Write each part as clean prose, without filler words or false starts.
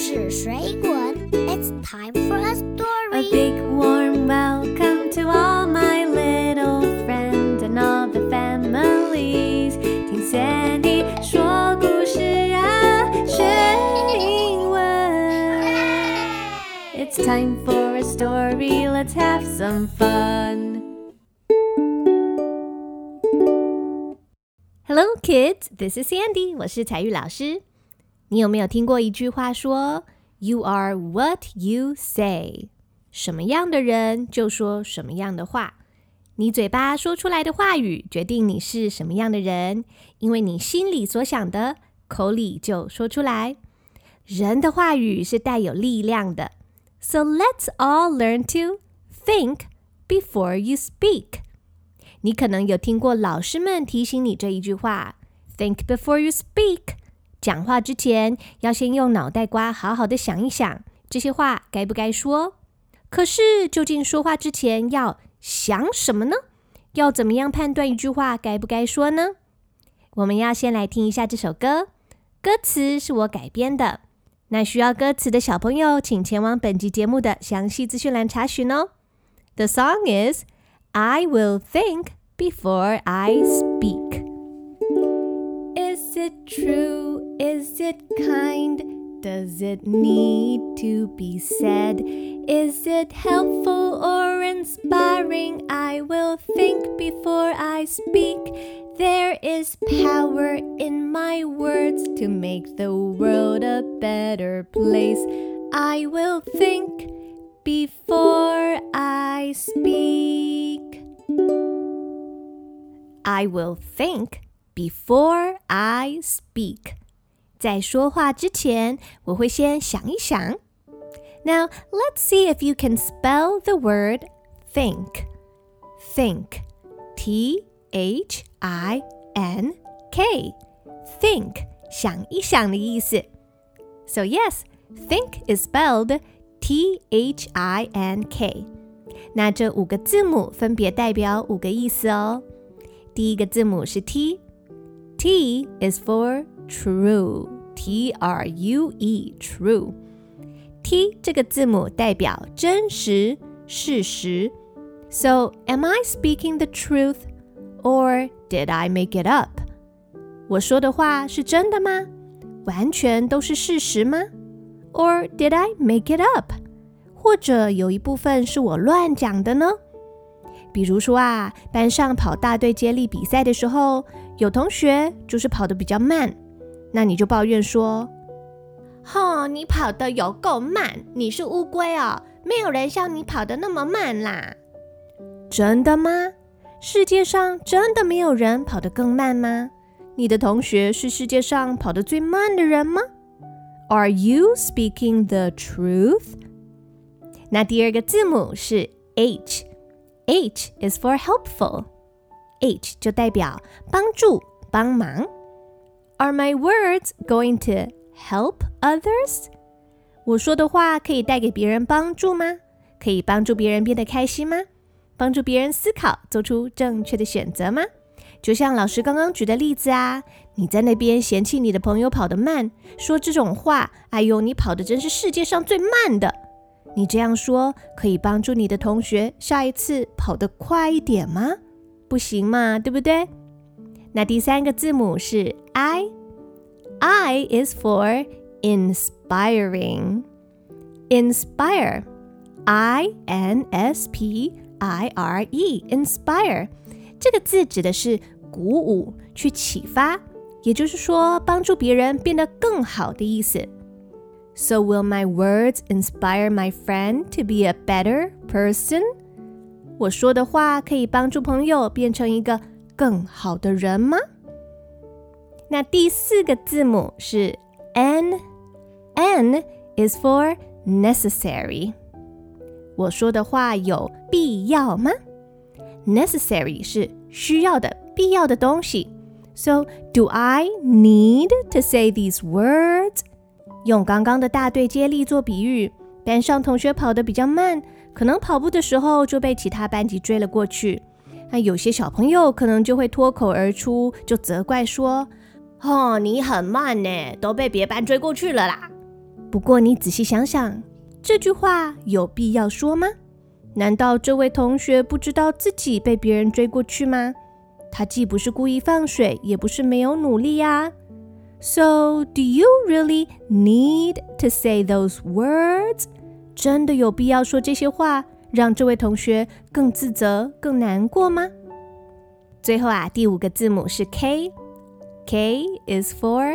事水滾 It's time for a story. A big warm welcome to all my little friends and all the families. 聽 Sandy 說故事啊，學英文。It's time for a story. Let's have some fun.Hello kids, this is Sandy. 我是采玉老師。你有沒有聽過一句話說 You are what you say. 什麼樣的人就說什麼樣的話。你嘴巴說出來的話語決定你是什麼樣的人，因為你心裡所想的，口裡就說出來。人的話語是帶有力量的。So let's all learn to think before you speak.你可能有聽過老師們提醒你這一句話 Think before you speak 講話之前要先用腦袋瓜好好的想一想這些話該不該說。可是究竟說話之前要想什麼呢？要怎麼樣判斷一句話該不該說呢？我們要先來聽一下這首歌，歌詞是我改編的。那需要歌詞的小朋友請前往本集節目的詳細資訊欄查詢哦。The song is I will think before I speak. Is it true? Is it kind? Does it need to be said? Is it helpful or inspiring? I will think before I speak. There is power in my words to make the world a better place. I will think before I speak. I will think before I speak. 在說話之前，我會先想一想。Now, let's see if you can spell the word think. Think. T-H-I-N-K. Think. 想一想的意思。So yes, think is spelled T-H-I-N-K. 那這5個字母分別代表5個意思哦。第一個字母是 T. T is for true. T-R-U-E, true. T 這個字母代表真實、事實。So, am I speaking the truth? Or did I make it up? 我說的話是真的嗎？完全都是事實嗎？ Or did I make it up? 或者有一部分是我亂講的呢？比如說啊，班上跑大隊接力比賽的時候，有同學就是跑得比較慢，那你就抱怨說，你跑得有夠慢，你是烏龜哦，沒有人像你跑得那麼慢啦。真的嗎？世界上真的沒有人跑得更慢嗎？你的同學是世界上跑得最慢的人嗎？ Are you speaking the truth? 那第二個字母是 H. H is for helpful. H 就代表幫助、幫忙。Are my words going to help others? 我說的話可以帶給別人幫助嗎？可以幫助別人變得開心嗎？幫助別人思考，做出正確的選擇嗎？就像老師剛剛舉的例子啊，你在那邊嫌棄你的朋友跑得慢，說這種話，哎呦，你跑得真是世界上最慢的。你這樣說可以幫助你的同學下一次跑得快一點嗎？不行嘛，對不對？那第三個字母是 I. I is for inspiring. Inspire. I-N-S-P-I-R-E. Inspire. 這個字指的是鼓舞，去啟發，也就是說幫助別人變得更好的意思。So will my words inspire my friend to be a better person? 我說的話可以幫助朋友變成一個更好的人嗎？那第4個字母是 N. N is for necessary. 我說的話有必要嗎？ Necessary 是需要的、必要的東西。So, do I need to say these words?用剛剛的大隊接力做比喻，班上同學跑得比較慢，可能跑步的時候就被其他班級追了過去。那有些小朋友可能就會脫口而出，就責怪說，你很慢呢，都被別班追過去了啦。 不過你仔細想想，這句話有必要說嗎？難道這位同學不知道自己被別人追過去嗎？他既不是故意放水，也不是沒有努力啊。So, do you really need to say those words? 真的有必要說這些話，讓這位同學更自責、更難過嗎？最後啊，第5個字母是 K。K is for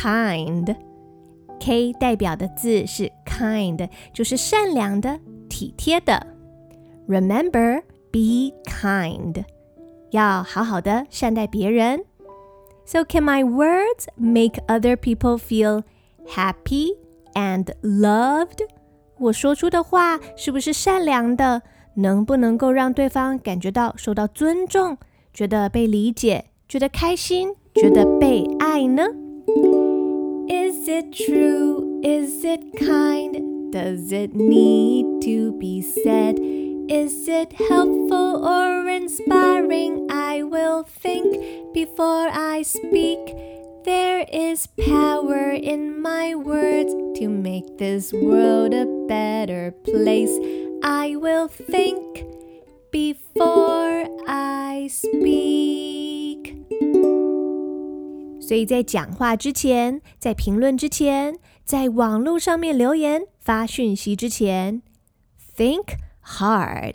kind。K 代表的字是 kind， 就是善良的、體貼的。Remember, be kind. 要好好的善待別人。So can my words make other people feel happy and loved? 我說出的話是不是善良的？能不能夠讓對方感覺到受到尊重，覺得被理解，覺得開心，覺得被愛呢？ Is it true? Is it kind? Does it need to be said? Is it helpful or inspiring? I will think before I speak. There is power in my words to make this world a better place. I will think before I speak. 所以在講話之前，在評論之前，在網絡上面留言發訊息之前 ，think hard,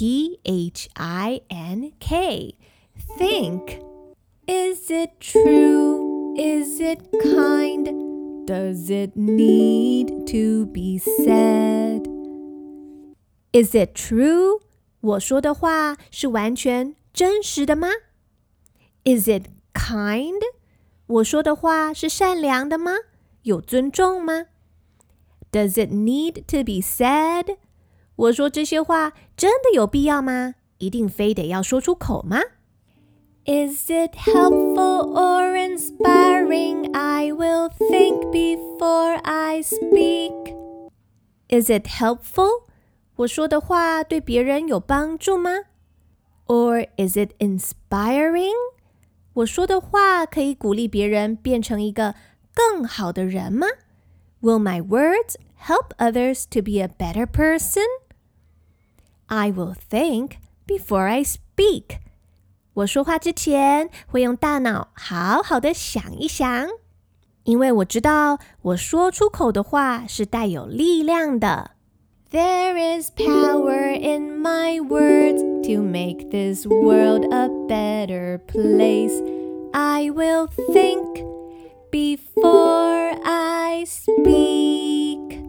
T-H-I-N-K. Think. Is it true? Is it kind? Does it need to be said? Is it true? 我說的話是完全真實的嗎？ Is it kind? 我說的話是善良的嗎？有尊重嗎？ Does it need to be said?我說這些話真的有必要嗎？一定非得要說出口嗎？ Is it helpful or inspiring? I will think before I speak. Is it helpful? 我說的話對別人有幫助嗎？ Or is it inspiring? 我說的話可以鼓勵別人變成一個更好的人嗎？ Will my words help others to be a better person?I will think before I speak. 我說話之前會用大腦好好的想一想，因為我知道我說出口的話是帶有力量的。There is power in my words to make this world a better place. I will think before I speak.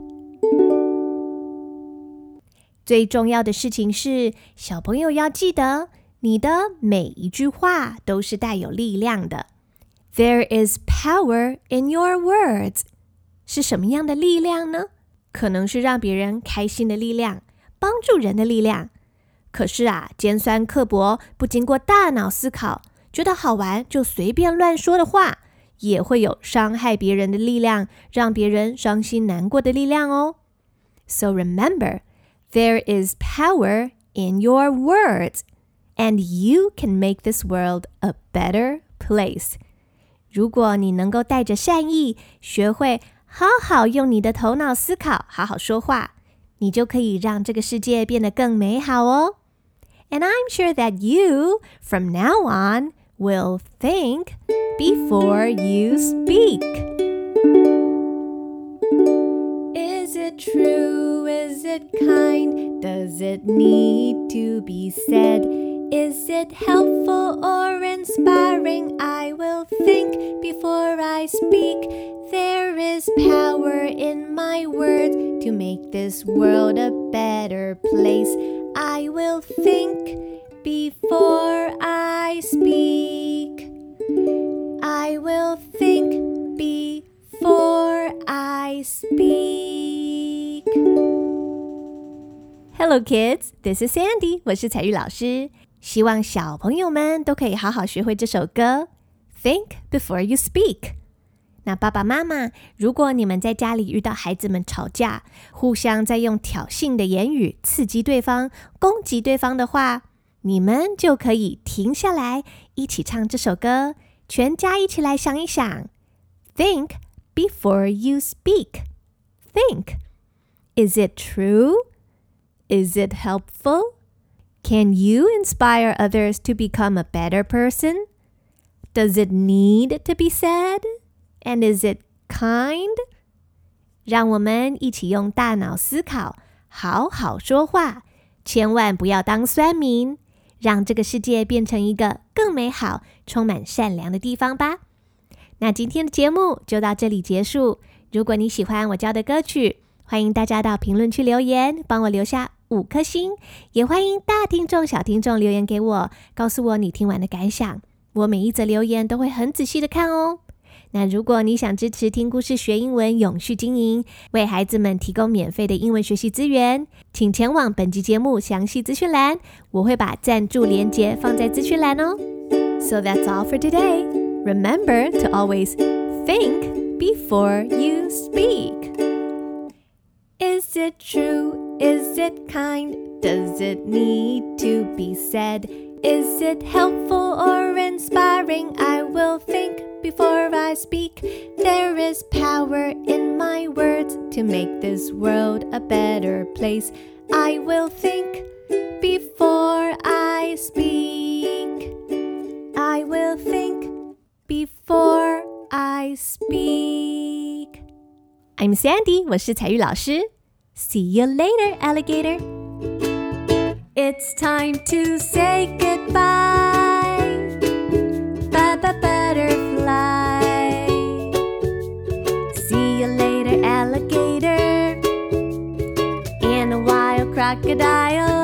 最重要的事情是，小朋友要記得，你的每一句話都是帶有力量的。There is power in your words. 是什麼樣的力量呢？可能是讓別人開心的力量，幫助人的力量。可是啊，尖酸刻薄，不經過大腦思考，覺得好玩就隨便亂說的話，也會有傷害別人的力量，讓別人傷心難過的力量哦。So remember,There is power in your words, and you can make this world a better place. 如果你能夠帶着善意，學會好好用你的頭腦思考，好好說話，你就可以讓這個世界變得更美好哦。And I'm sure that you, from now on, will think before you speak.Is it true? Is it kind? Does it need to be said? Is it helpful or inspiring? I will think before I speak. There is power in my words to make this world a better place. I will think before I speak. I will think before I speak. Hello kids, this is Sandy. 我是彩玉老師，希望小朋友們都可以好好學會這首歌 Think before you speak. 那爸爸媽媽，如果你們在家裡遇到孩子們吵架，互相在用挑釁的言語刺激對方，攻擊對方的話，你們就可以停下來，一起唱這首歌，全家一起來想一想 Think before you speak. think. Is it true? Is it helpful? Can you inspire others to become a better person? Does it need to be said? And is it kind? 讓我們一起用大腦思考，好好說話，千萬不要當酸民，讓這個世界變成一個更美好、充滿善良的地方吧。那今天的節目就到這裡結束。如果你喜歡我教的歌曲，歡迎大家到評論區留言，幫我留下5顆星。也歡迎大聽眾、小聽眾留言給我，告訴我你聽完的感想。我每一則留言都會很仔細的看哦。那如果你想支持聽故事學英文永續經營，為孩子們提供免費的英文學習資源，請前往本集節目詳細資訊欄，我會把贊助連結放在資訊欄哦。So that's all for today. Remember to always think before you speak. Is it true? Is it kind? Does it need to be said? Is it helpful or inspiring? I will think before I speak. There is power in my words to make this world a better place. I will think before I speak. I will think before I speak. I'm Sandy, 我是彩玉老師。See you later, alligator. It's time to say goodbye. Bye-bye, butterfly. See you later, alligator. And a wild crocodile.